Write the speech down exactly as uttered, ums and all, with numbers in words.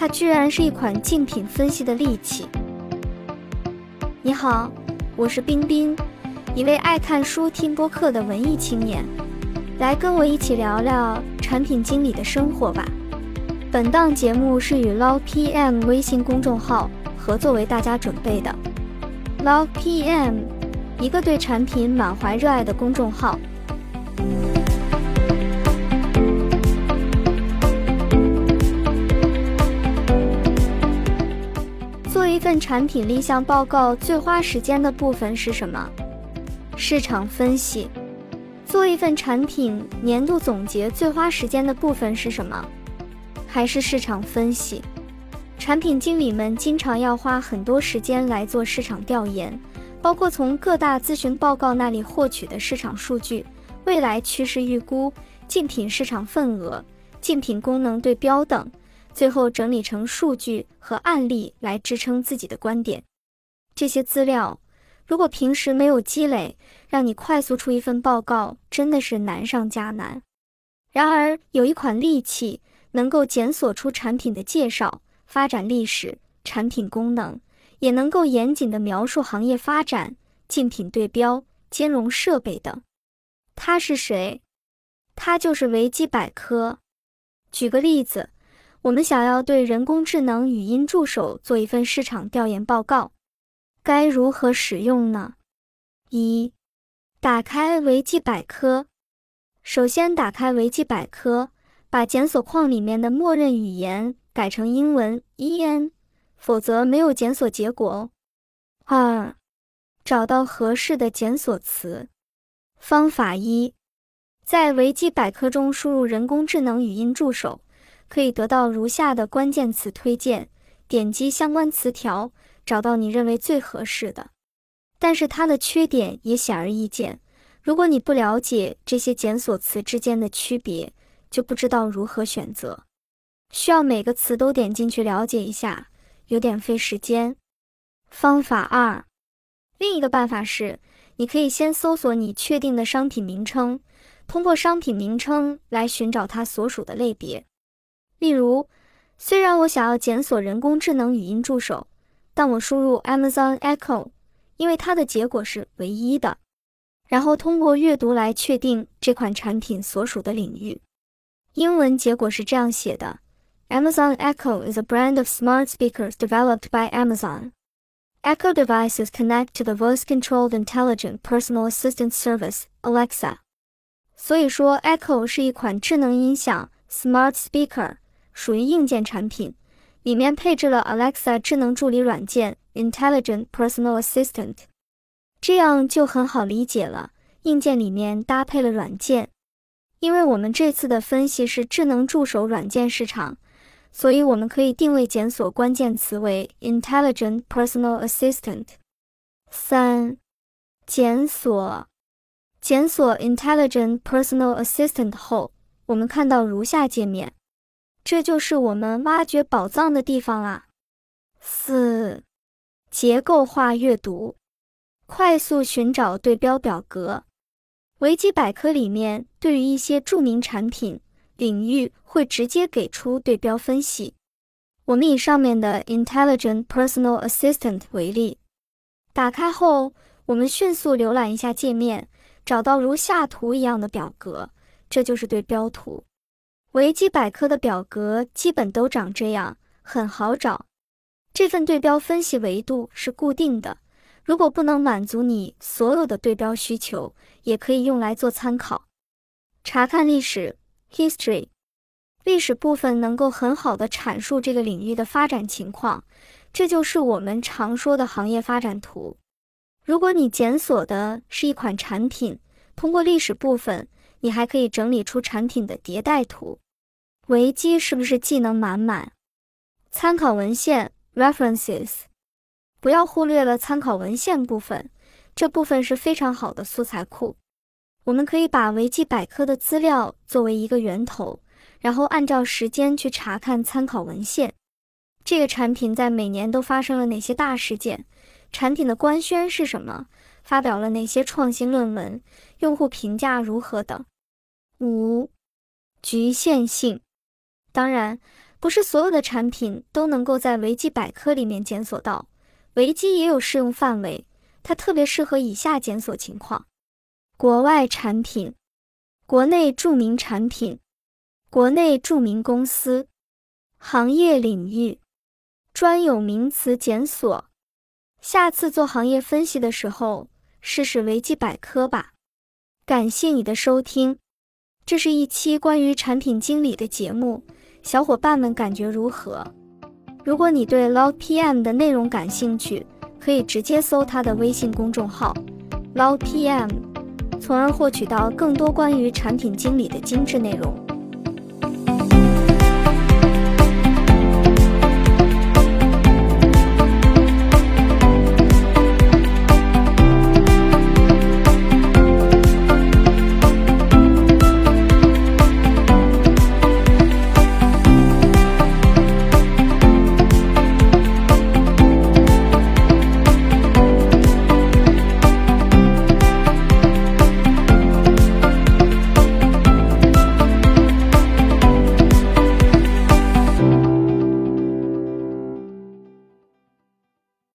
居然是一款竞品分析的利器。你好，我是冰冰，一位爱看书听播客的文艺青年，来跟我一起聊聊产品经理的生活吧。本档节目是与 Log P M 微信公众号合作为大家准备的。Log P M， 一个对产品满怀热爱的公众号。做一份产品立项报告最花时间的部分是什么？市场分析。做一份产品年度总结最花时间的部分是什么？还是市场分析。产品经理们经常要花很多时间来做市场调研，包括从各大咨询报告那里获取的市场数据、未来趋势预估、竞品市场份额、竞品功能对标等，最后整理成数据和案例来支撑自己的观点。这些资料如果平时没有积累，让你快速出一份报告真的是难上加难。然而有一款利器能够检索出产品的介绍、发展历史、产品功能，也能够严谨地描述行业发展、竞品对标、兼容设备等。它是谁？它就是维基百科。举个例子，我们想要对人工智能语音助手做一份市场调研报告，该如何使用呢？一、打开维基百科。首先打开维基百科，把检索框里面的默认语言改成英文 E N， 否则没有检索结果哦。二、找到合适的检索词。方法一，在维基百科中输入人工智能语音助手，可以得到如下的关键词推荐，点击相关词条，找到你认为最合适的。但是它的缺点也显而易见，如果你不了解这些检索词之间的区别，就不知道如何选择。需要每个词都点进去了解一下，有点费时间。方法二，另一个办法是，你可以先搜索你确定的商品名称，通过商品名称来寻找它所属的类别。例如，虽然我想要检索人工智能语音助手，但我输入 Amazon Echo， 因为它的结果是唯一的。然后通过阅读来确定这款产品所属的领域。英文结果是这样写的： Amazon Echo is a brand of smart speakers developed by Amazon. Echo devices connect to the voice-controlled intelligent personal assistant service, Alexa. 所以说 Echo 是一款智能音响 Smart Speaker， 属于硬件产品，里面配置了 Alexa 智能助理软件 Intelligent Personal Assistant。 这样就很好理解了，硬件里面搭配了软件。因为我们这次的分析是智能助手软件市场，所以我们可以定位检索关键词为 Intelligent Personal Assistant。 三、检索。检索 Intelligent Personal Assistant 后，我们看到如下界面，这就是我们挖掘宝藏的地方啊。四、结构化阅读。快速寻找对标表格。维基百科里面对于一些著名产品领域会直接给出对标分析。我们以上面的 Intelligent Personal Assistant 为例，打开后，我们迅速浏览一下界面，找到如下图一样的表格，这就是对标图。维基百科的表格基本都长这样，很好找。这份对标分析维度是固定的，如果不能满足你所有的对标需求，也可以用来做参考。查看历史 History。 历史部分能够很好地阐述这个领域的发展情况，这就是我们常说的行业发展图。如果你检索的是一款产品，通过历史部分，你还可以整理出产品的迭代图。维基是不是技能满满？参考文献 References。不要忽略了参考文献部分，这部分是非常好的素材库。我们可以把维基百科的资料作为一个源头，然后按照时间去查看参考文献。这个产品在每年都发生了哪些大事件？产品的官宣是什么？发表了哪些创新论文？用户评价如何等。五、局限性。当然， 不是所有的产品都能够在维基百科里面检索到，维基也有适用范围，它特别适合以下检索情况：国外产品、国内著名产品、国内著名公司、行业领域、专有名词检索。下次做行业分析的时候，试试维基百科吧。感谢你的收听，这是一期关于产品经理的节目，小伙伴们感觉如何？如果你对 Log P M 的内容感兴趣，可以直接搜他的微信公众号 Log P M， 从而获取到更多关于产品经理的精致内容。